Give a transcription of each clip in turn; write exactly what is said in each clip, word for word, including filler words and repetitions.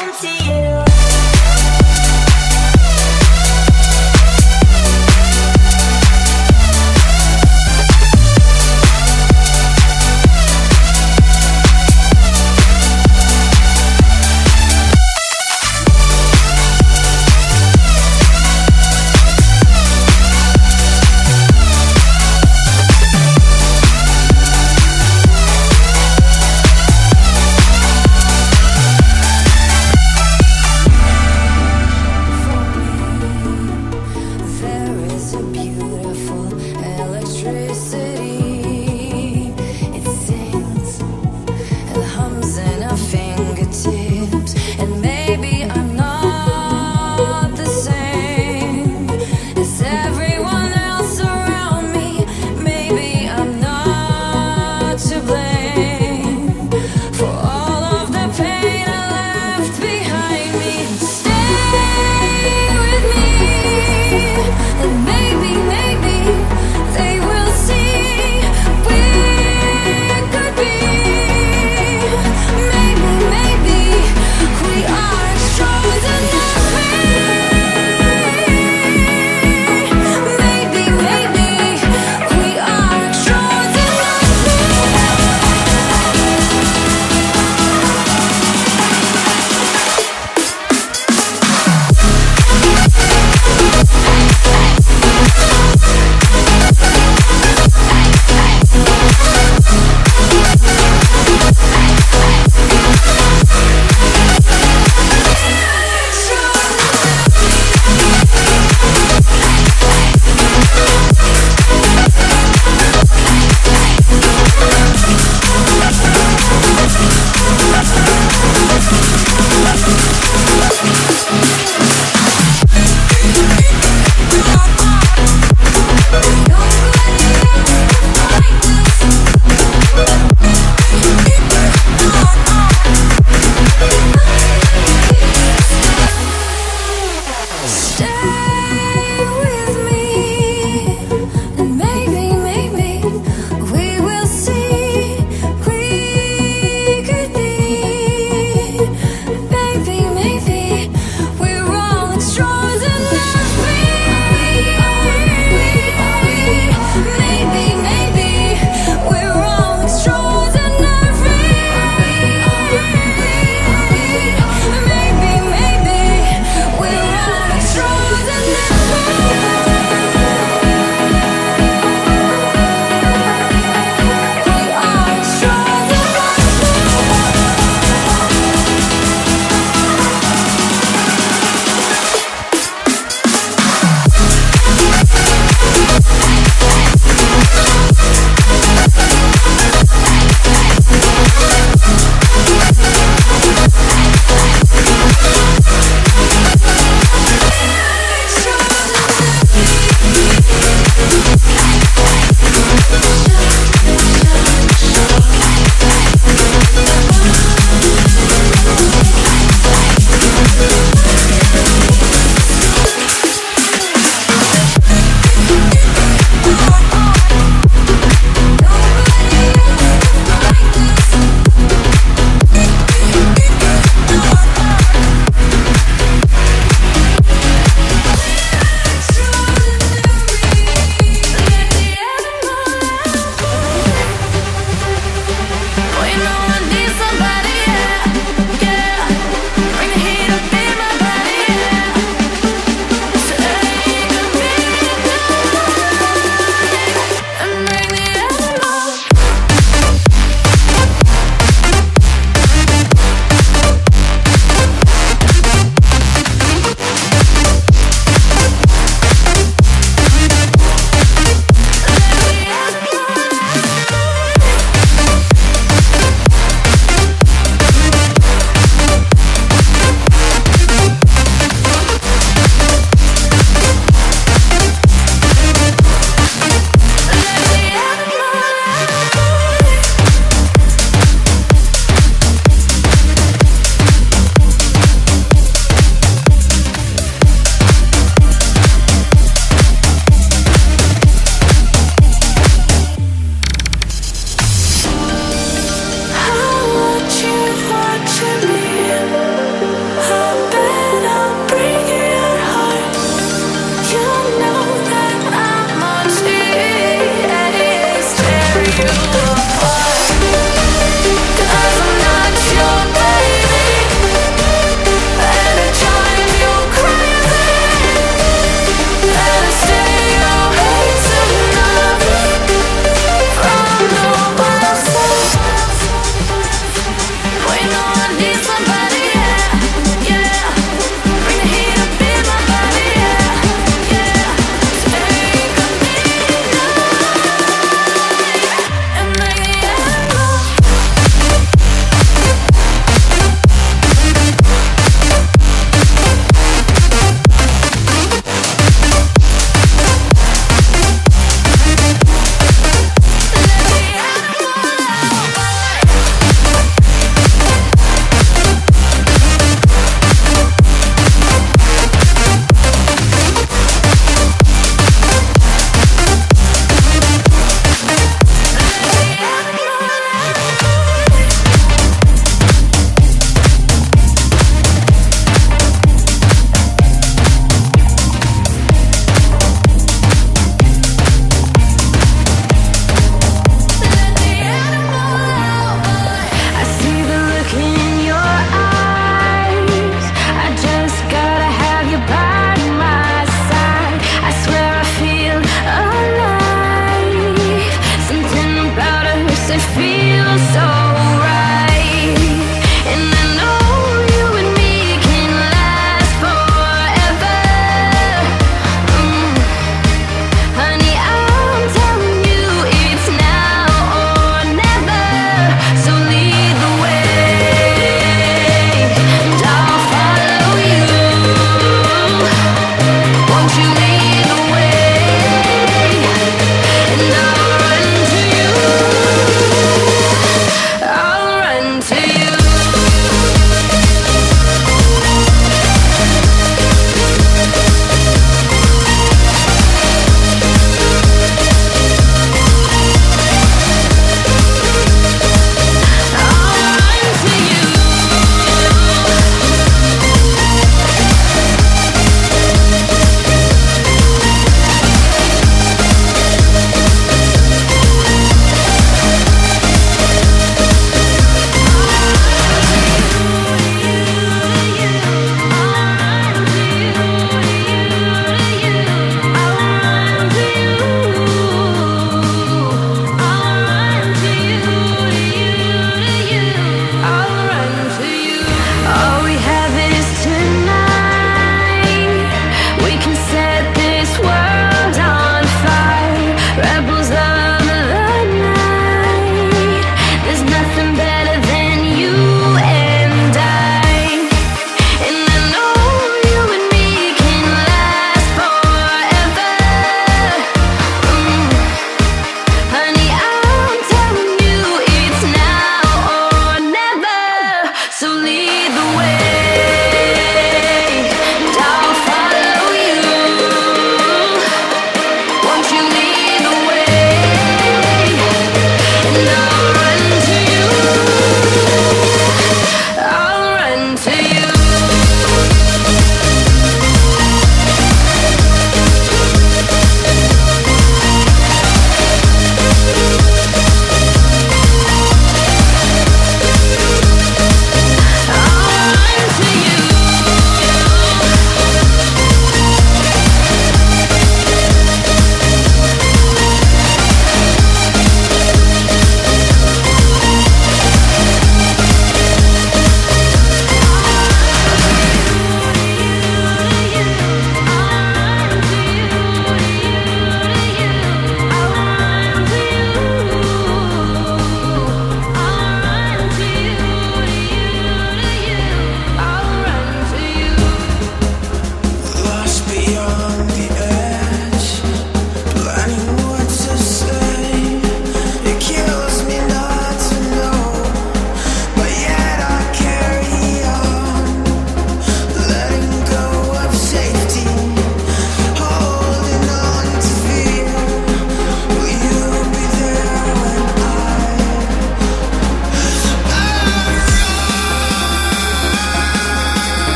into you.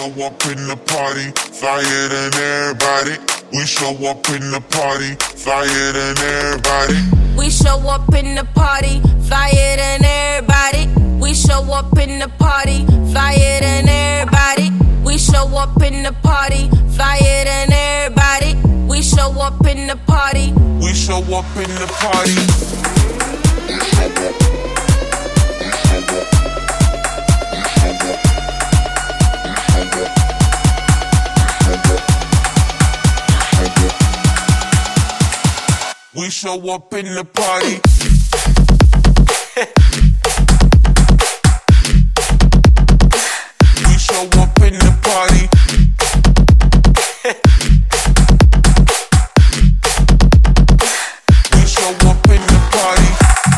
show up in the party, flyer than everybody. We show up in the party, flyer than everybody. We show up in the party, flyer than everybody. We show up in the party, flyer than everybody. We show up in the party, flyer than everybody. We show up in the party. We show up in the party. We show up in the party. We show up in the party. We show up in the party.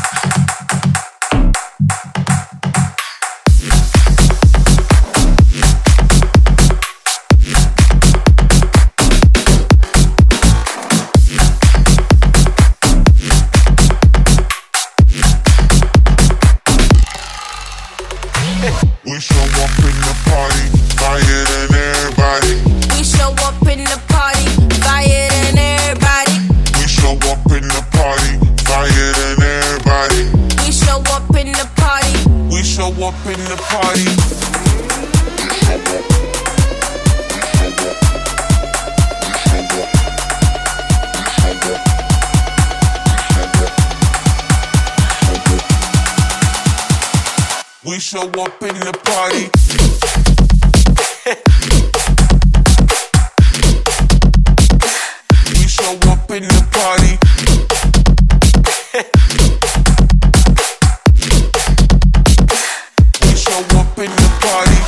We show up in the party, flyer than everybody. We show up in the party, flyer than everybody. We show up in the party, flyer than everybody. We show up in the party. We show up in the party. We show up in the party. We show up in the party. We show up in the party.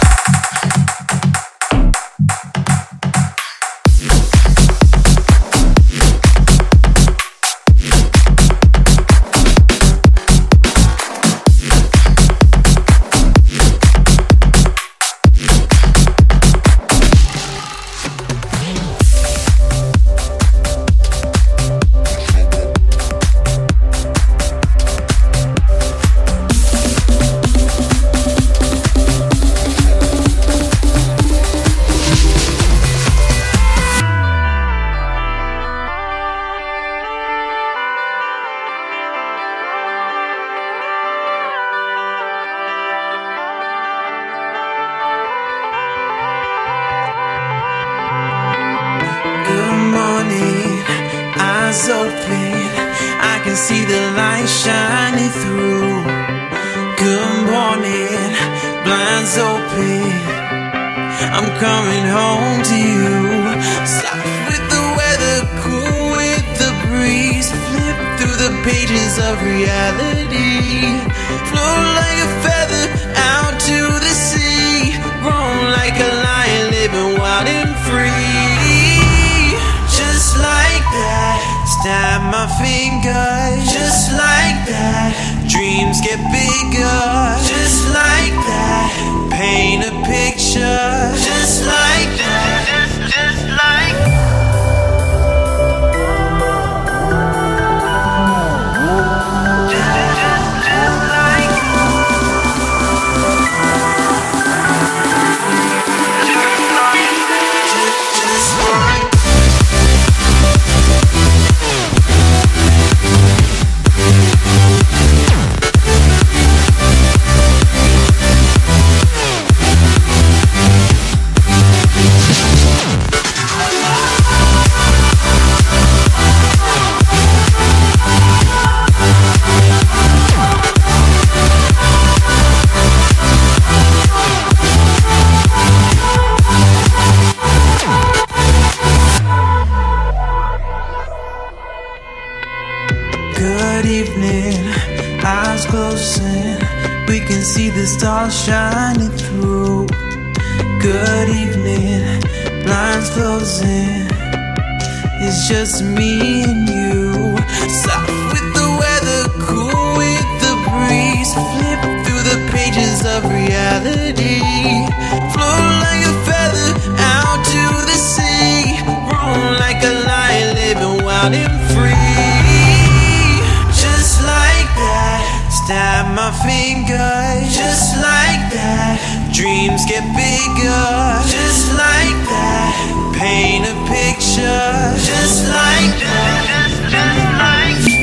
Eyes open, I can see the light shining through. Good morning, blinds open, I'm coming home to you. Soft with the weather, cool with the breeze. Flip through the pages of reality. Float like a feather out to the sea. Roam like a lion, living wild and free. Just like that, snap my fingers. Just like that, dreams get bigger. Just like that, paint a picture. Just like that, just, just like just, just, just like just, just like good evening, eyes closing, we can see the stars shining through. Good evening, blinds closing, it's just me and you. Soft with the weather, cool with the breeze. Flip through the pages of reality. Float like a feather out to the sea. Roam like a lion, living wild and free. Snap my fingers. Just like that, dreams get bigger. Just paint a picture just like that, just, just like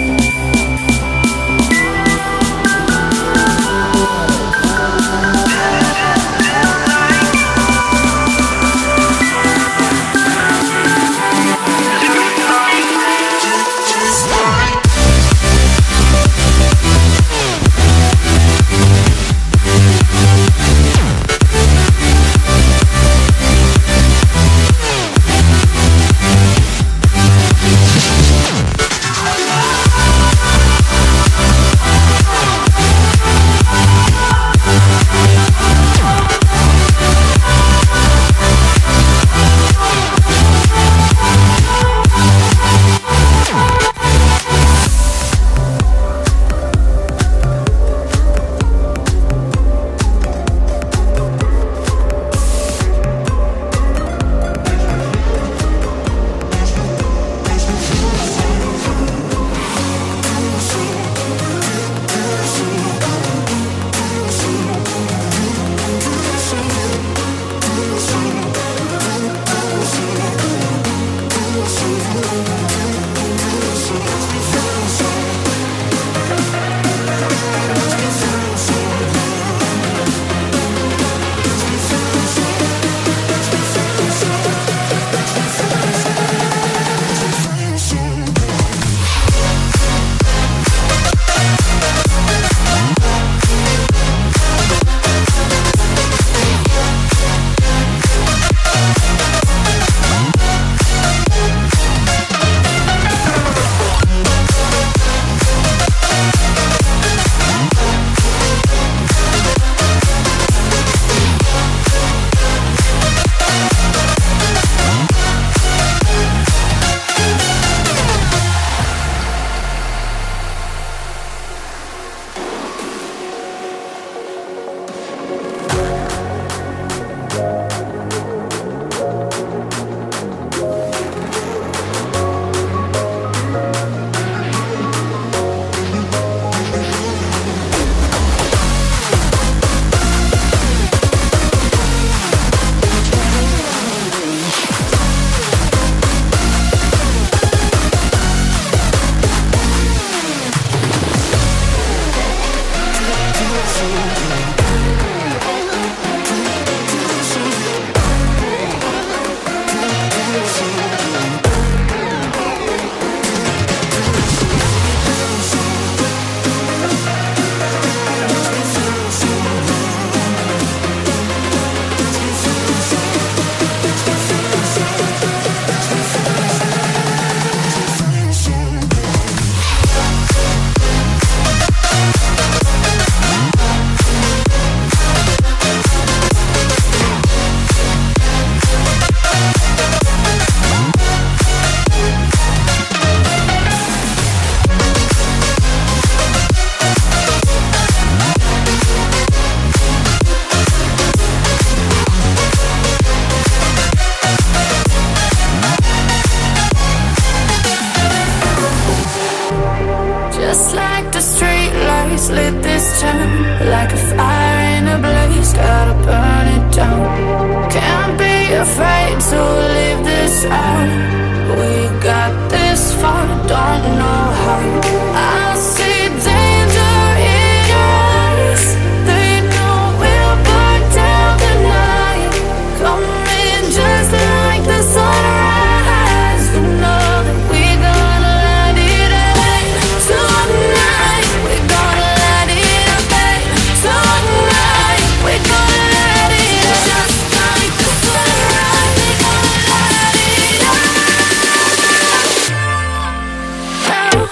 now.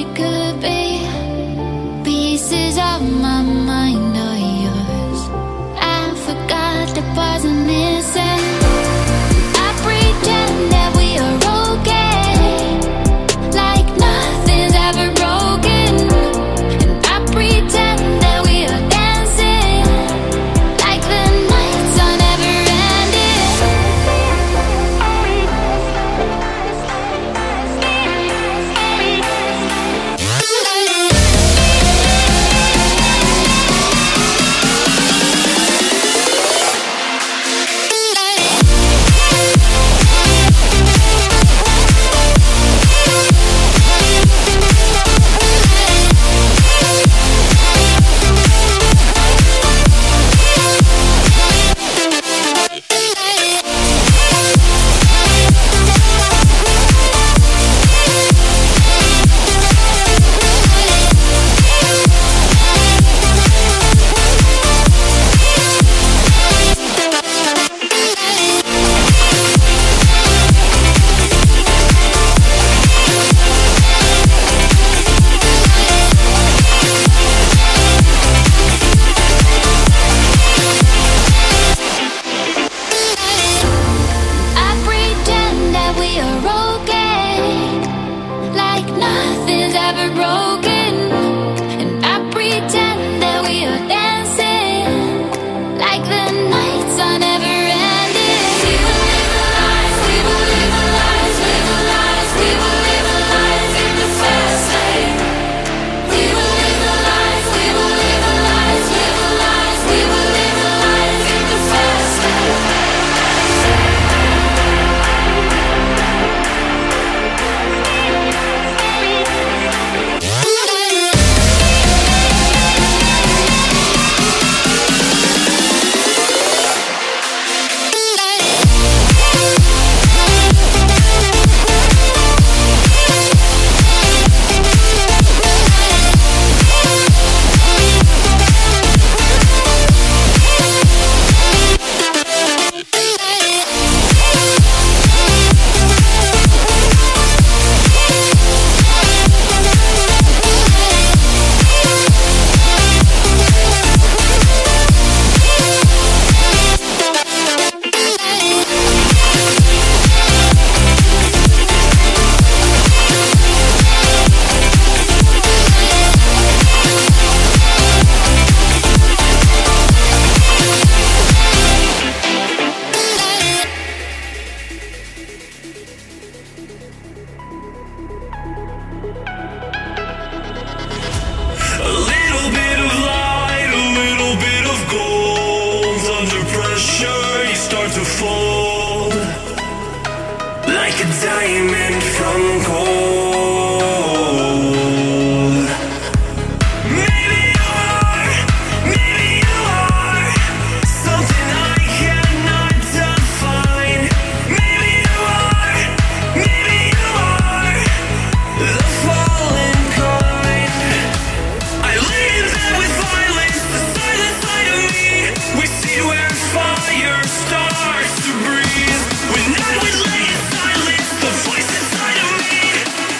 could be. Pieces of my mind are yours. I forgot the parts I'm missing. I pretend that we are okay, like nothing's ever broken. And I pretend that we are dancing, like the nights are never ending. I pretend that we are okay, like nothing's ever broken. And I pretend that we are dancing, like the nights are never ending. We will live the lives, we will live the lives, live the lives, we will live the lives in the fast lane. We will live the lives, we will live the lives, live the lives, we will live the lives in the fast lane. A little bit of light, a little bit of gold. Under pressure, you start to fold like a diamond from gold. Maybe you are, maybe you are something I cannot define. Maybe you are, maybe you are the fallen kind. I lay in bed with violence, the silent side of me. We see where fire starts to breathe. When I would lay in silence, the voice inside of me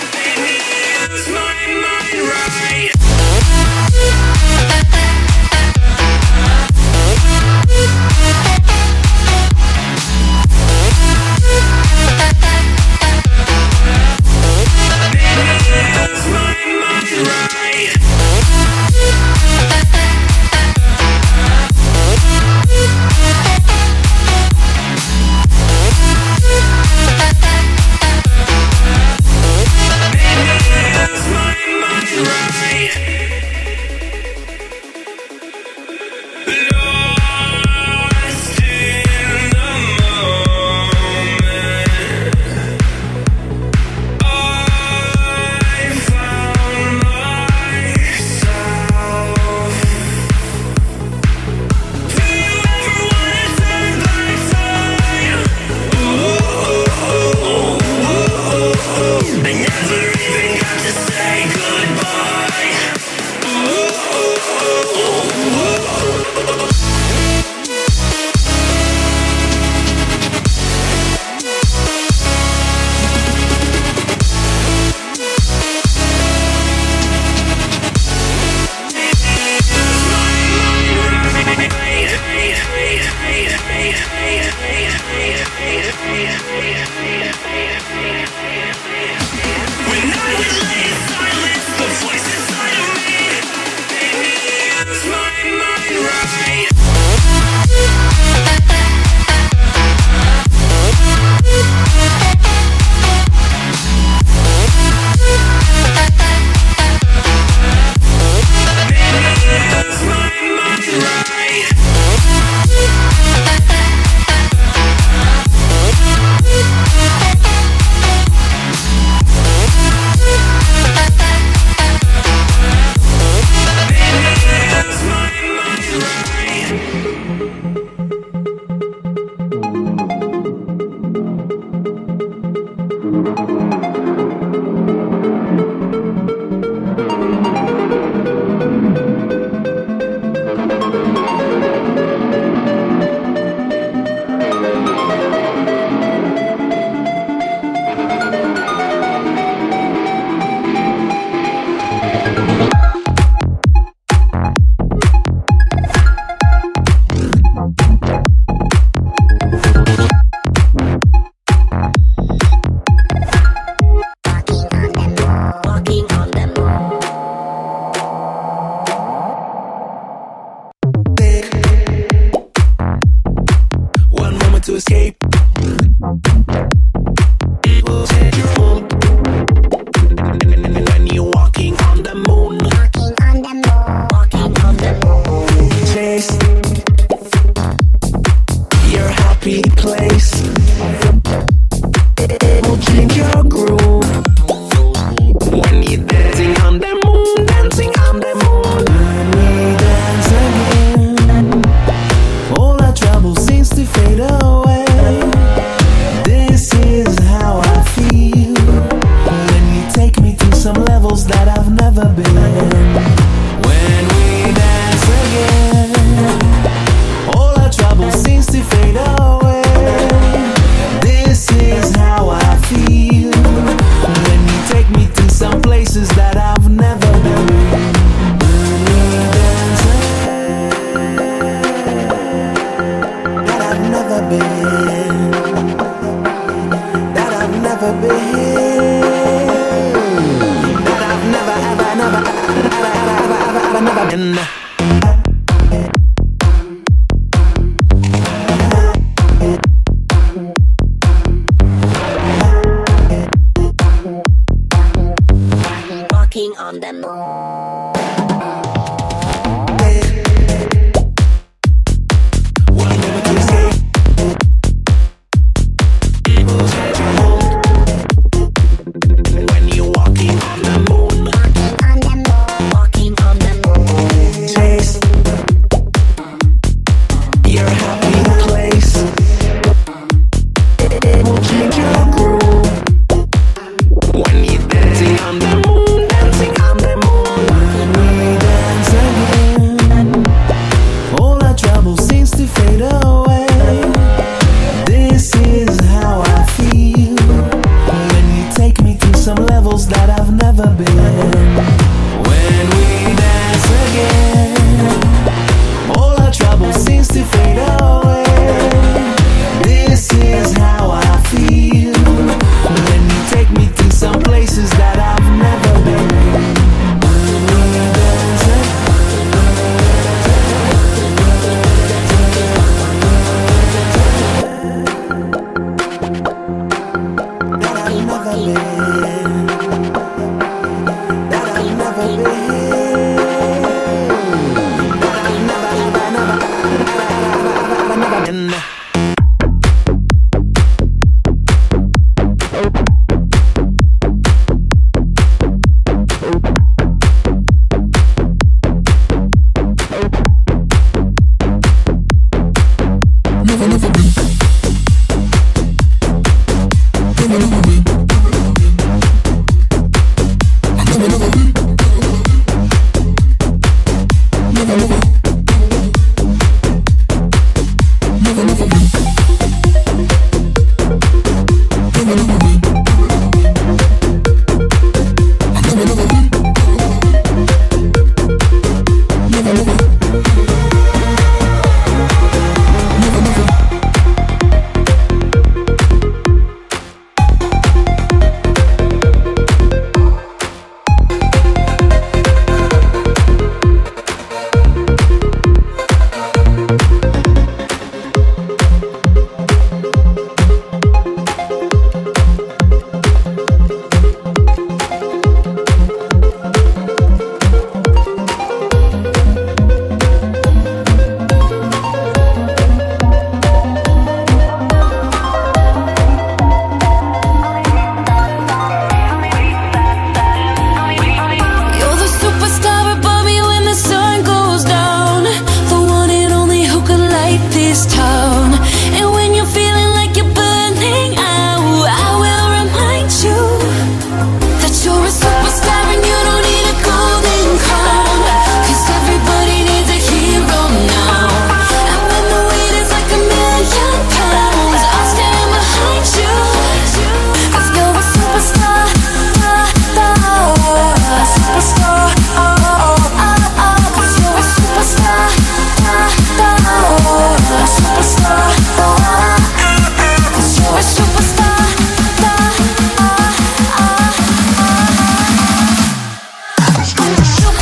When you're dancing on the moon, dancing on the moon.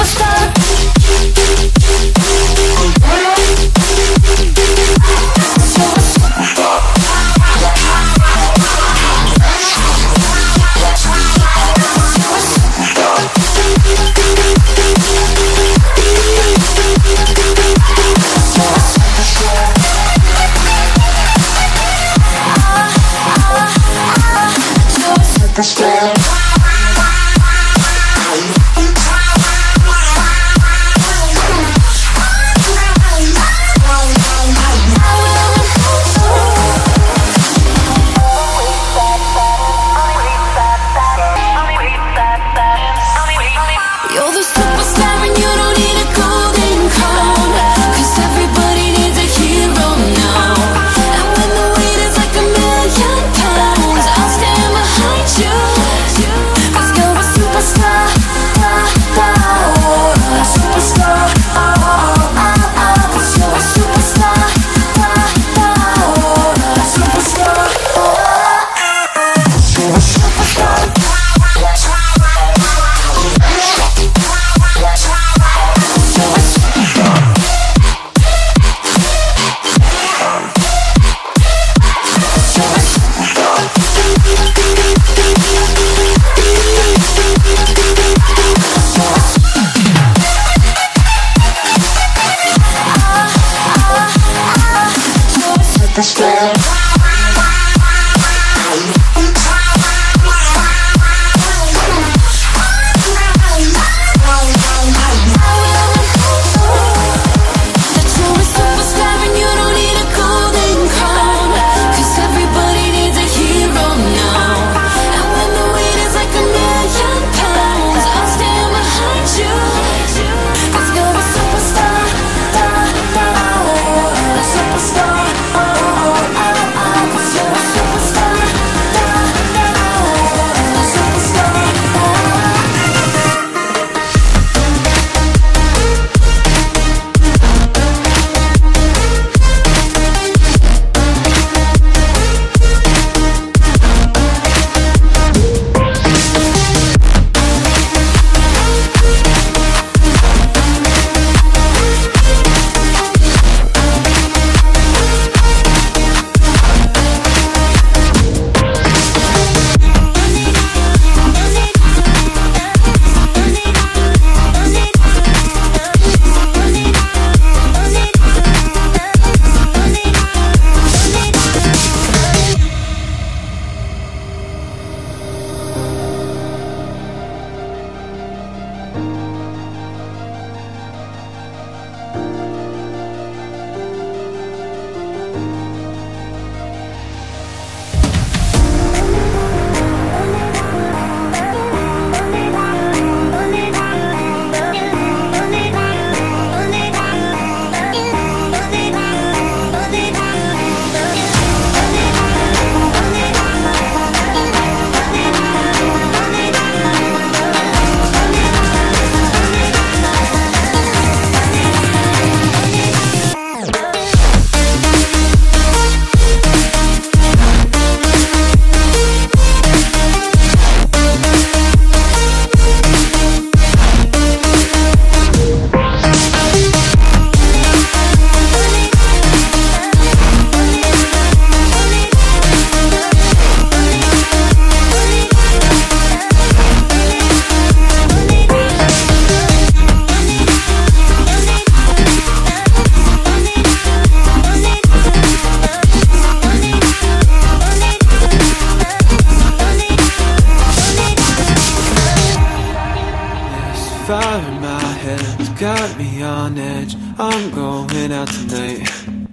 got me on edge. I'm going out tonight,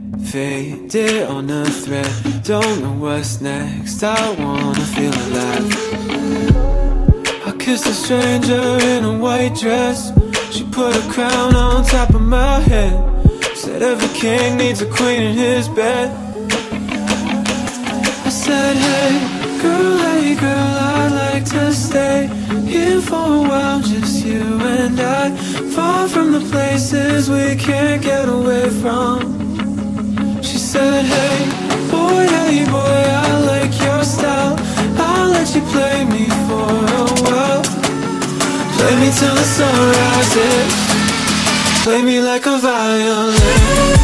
faded on a thread. Don't know what's next, I wanna feel alive. I kissed a stranger in a white dress. She put a crown on top of my head. Said every king needs a queen in his bed. I said, hey, girl, hey, girl, I'd like to stay here for a while, just you and I, far from the places we can't get away from. She said, hey, boy, hey, boy, I like your style. I'll let you play me for a while. Play me till the sunrise. rises. Play me like a violin.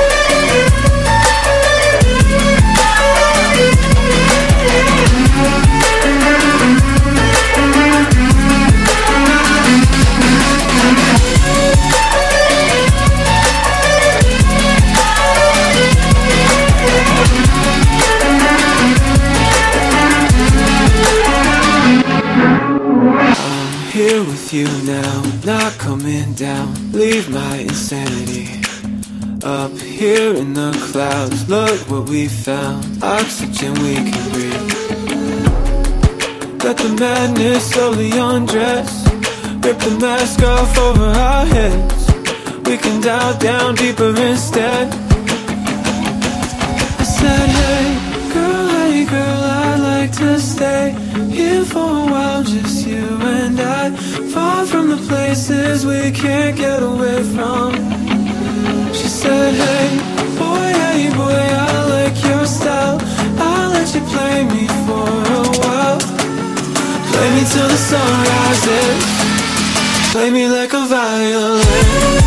Here with you now, not coming down. Leave my insanity up here in the clouds. Look what we found, oxygen we can breathe. Let the madness slowly undress. Rip the mask off over our heads. We can dive down deeper instead. I said, hey girl, hey girl, I'd like to stay here for a while, just you and I. Far from the places we can't get away from. She said, hey boy, hey boy, I like your style. I'll let you play me for a while. Play me till the sun rises. Play me like a violin.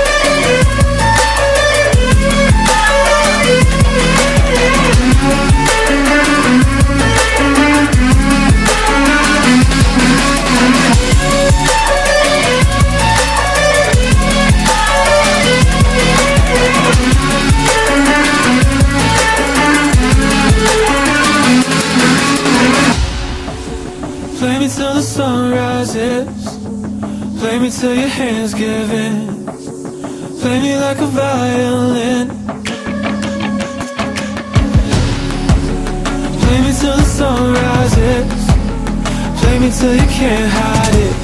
Play me till the sun rises. Play me till your hands give in. Play me like a violin. Play me till the sun rises. Play me till you can't hide it.